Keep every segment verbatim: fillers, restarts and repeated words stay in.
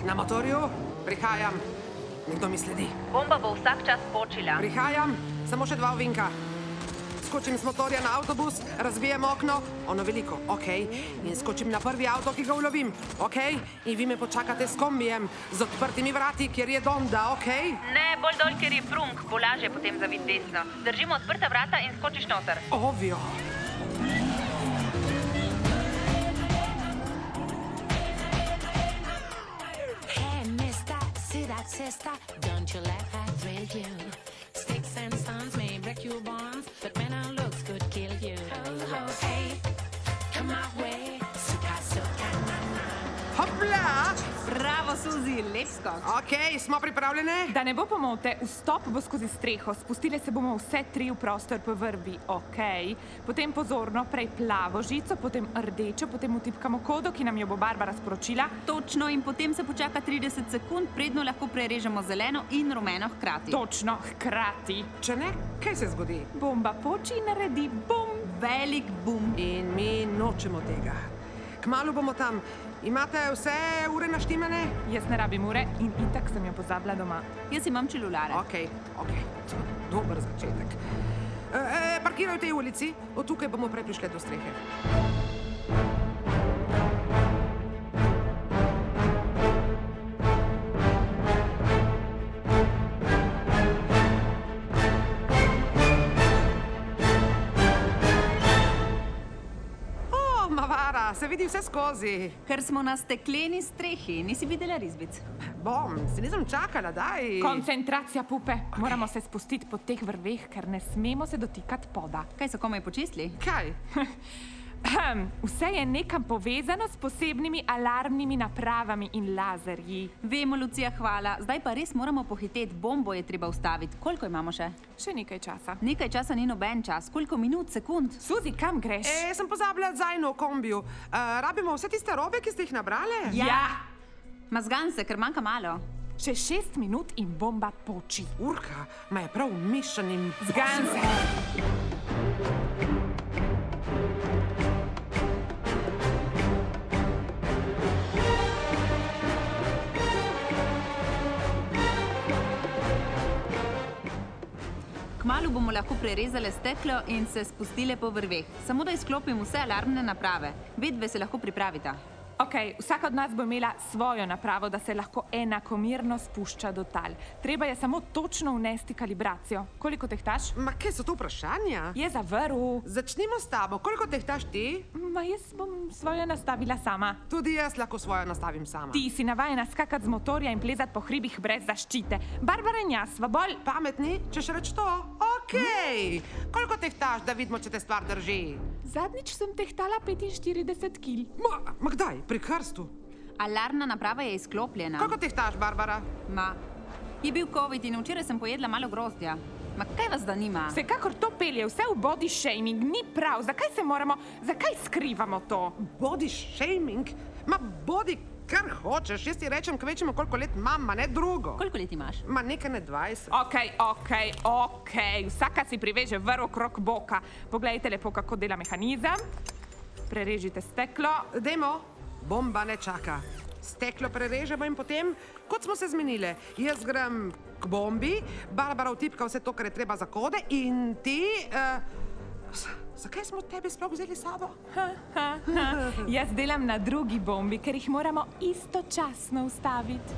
Na motorju, prihajam. Nekdo mi sledi. Bomba bo vsak čas počila. Prihajam, samo še dva ovinka. Skočim z motorja na avtobus, razbijem okno, ono veliko, ok, in skočim na prvi avto, ki ga ulovim, ok, in vi me počakate s kombijem, z odprtimi vrati, kjer je Donda, ok? Ne, bolj dol, ker je prunk, bo lažje potem zaviti desno. Držimo odprta vrata in skočiš noter. Ovjo. Hey, mister, see that sister? Don't you let her thrill you? Sticks and stones may break your bones, but when our looks could kill you. Oh, oh, hey, come my way, suka, suka, na, na. Hopla! Bravo, Suzi, lep skok. Ok, smo pripravljene? Da ne bo pomote, vstop bo skozi streho, spustile se bomo vse tri v prostor po vrvi, ok? Potem pozorno, prej plavo žico, potem rdečo, potem utipkamo kodo, ki nam jo bo Barbara sporočila. Točno, in potem se počaka trideset sekund, predno lahko prerežemo zeleno in rumeno hkrati. Točno, hkrati. Če ne, kaj se zgodi? Bomba poči in naredi bum. Velik bum. In mi nočemo tega. Kmalu bomo tam. Imate vse ure naštimane? Jaz ne rabim ure in itak sem jo pozabila doma. Jaz imam čelulare. Ok, ok, dober začetek. E, e, parkiraj v tej ulici, od tukaj bomo prej prišli do strehe. Mavara, se vidi vse skozi. Ker smo na stekleni strehi, nisi videla risbic. Bom, se nisem čakala, daj. Koncentracija, pupe. Moramo se spustiti po teh vrveh, ker ne smemo se dotikati poda. Kaj so komaj počistili? Kaj? Vse je nekam povezano s posebnimi alarmnimi napravami in lazerji. Vemo, Lucija, hvala. Zdaj pa res moramo pohiteti. Bombo je treba ustaviti. Koliko imamo še? Še nekaj časa. Nekaj časa ni noben čas. Koliko minut, sekund? Suzi, kam greš? E, sem pozabila zajno v kombiju. Uh, rabimo vse tiste robe, ki ste jih nabrale? Ja. Mazgan se, ker manjka malo. Še šest minut in bomba poči. Urka, ma je prav mišljenim. Zgan se. Kmalu bomo lahko prerezale steklo in se spustile po vrveh. Samo da izklopim vse alarmne naprave. Vedve se lahko pripravita. Ok, vsaka od nas bo imela svojo napravo, da se lahko enakomerno spušča do tal. Treba je samo točno vnesti kalibracijo. Koliko tehtaš? Ma kaj so to vprašanja? Je zavrl. Začnimo s tabo. Koliko tehtaš ti? Ma jaz bom svojo nastavila sama. Tudi jaz lahko svojo nastavim sama. Ti si navajena skakati z motorja in plezati po hribih brez zaščite. Barbara in jaz sva bolj pametni, če še reč to? Ok. Koliko tehtaš, da vidimo, če te stvar drži? Zadnjič sem tehtala petinštirideset kil. Ma, ma kdaj? Pri krstu? Alarmna naprava je izklopljena. Koliko tehtaš, Barbara? Ma, je bil covid in včeraj sem pojedla malo grozdja. Ma kaj vas zanima? Vsekakor to pelje vse v body shaming, ni prav. Zakaj se moramo, zakaj skrivamo to? Body shaming? Ma body kar hočeš. Jaz ti rečem, kvečemo koliko let imam, ma ne drugo. Koliko let imaš? Ma nekaj ne dvajset. Ok, ok, ok. Vsaka si priveže vrv okrog boka. Poglejte lepo, kako dela mehanizem. Prerežite steklo. Dajmo. Bomba ne čaka. Steklo prerežemo in potem, kot smo se zmenile, jaz grem k bombi, Barbara vtipka vse to, kar je treba za kode in ti... Uh, zakaj smo tebe sploh vzeli s sabo? Ha, ha, ha. Jaz delam na drugi bombi, ker jih moramo istočasno ustaviti.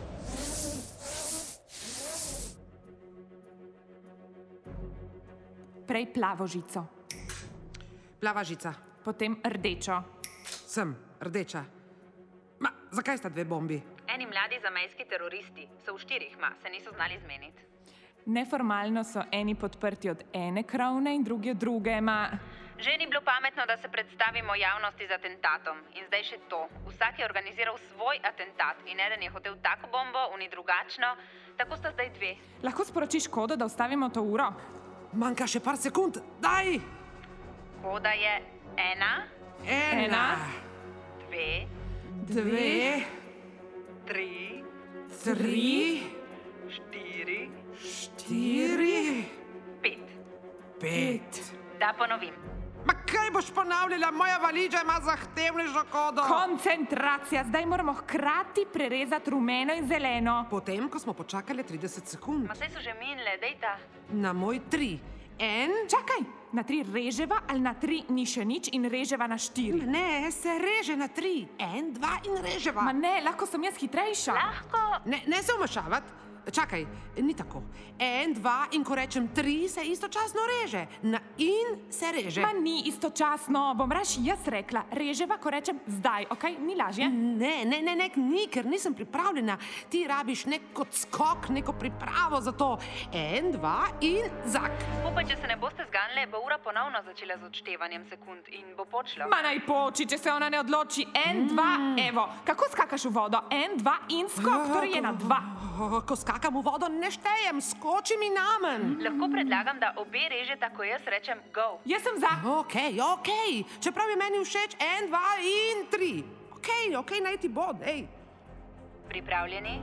Prej plavo žico. Plava žica. Potem rdečo. Sem, rdeča. Ma, zakaj sta dve bombi? Eni mladi zamejski teroristi. So v štirih, ma, se niso znali zmeniti. Neformalno so eni podprti od ene krovne in drugi od druge, ma... Že ni bilo pametno, da se predstavimo javnosti z atentatom. In zdaj še to. Vsak je organiziral svoj atentat in eden je hotel tako bombo, oni drugačno. Tako sta zdaj dve. Lahko sporočiš kodo, da ustavimo to uro? Manjka še par sekund. Daj! Koda je ena. Ena. Dve. Dve. Tri. Tri. Štiri. Štiri. Pet. Pet. Da ponovim. Ma kaj boš ponavljala, moja valiža ima zahtevnejšo kodo. Koncentracija, zdaj moramo hkrati prerezati rumeno in zeleno. Potem, ko smo počakali trideset sekund. Ma saj so že minile, dejta. Na moj tri. En. Čakaj, na tri reževa ali na tri ni še nič in reževa na štiri? Ne, se reže na tri. En, dva in reževa. Ma ne, lahko sem jaz hitrejša. Lahko. Ne, ne se vmešavati. Čakaj, ni tako. En, dva in ko rečem tri, se istočasno reže. Na in se reže. Ma ni istočasno, bom raš jaz rekla. Reževa, ko rečem zdaj, okej? Ni lažje? Ne, ne, ne, ne, ni, ker nisem pripravljena. Ti rabiš nek odskok, neko pripravo za to. En, dva in zak. Upaj, če se ne boste zganile, bo ura ponovno začela z odštevanjem sekund in bo počlo. Ma naj poči, če se ona ne odloči. En, dva, evo. Kako skakaš v vodo? En, dva in skok, torej je na dva. Ko skakam v vodo, ne štejem, skoči mi namen. Lahko predlagam, da obe režeta, ko jaz rečem go. Jaz sem za. Okej, okej. Čeprav je meni všeč en, dva in tri. Okej, okej, naj ti bod, ej. Pripravljeni?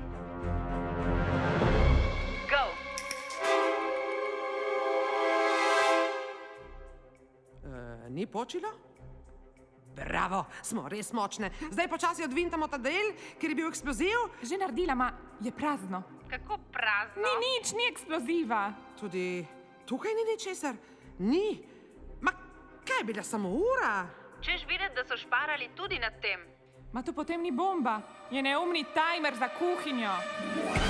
Go! E, ni počilo? Bravo, smo res močne. Zdaj počasi odvintamo ta del, ker je bil eksploziv. Že naredila, ma je prazno. Kako prazno. Ni nič, ni eksploziva. Tudi tukaj ni ničesar. Ni. Ma kaj je bila samo ura? Češ videti, da so šparali tudi nad tem. Ma to potem ni bomba. Je neumni tajmer za kuhinjo.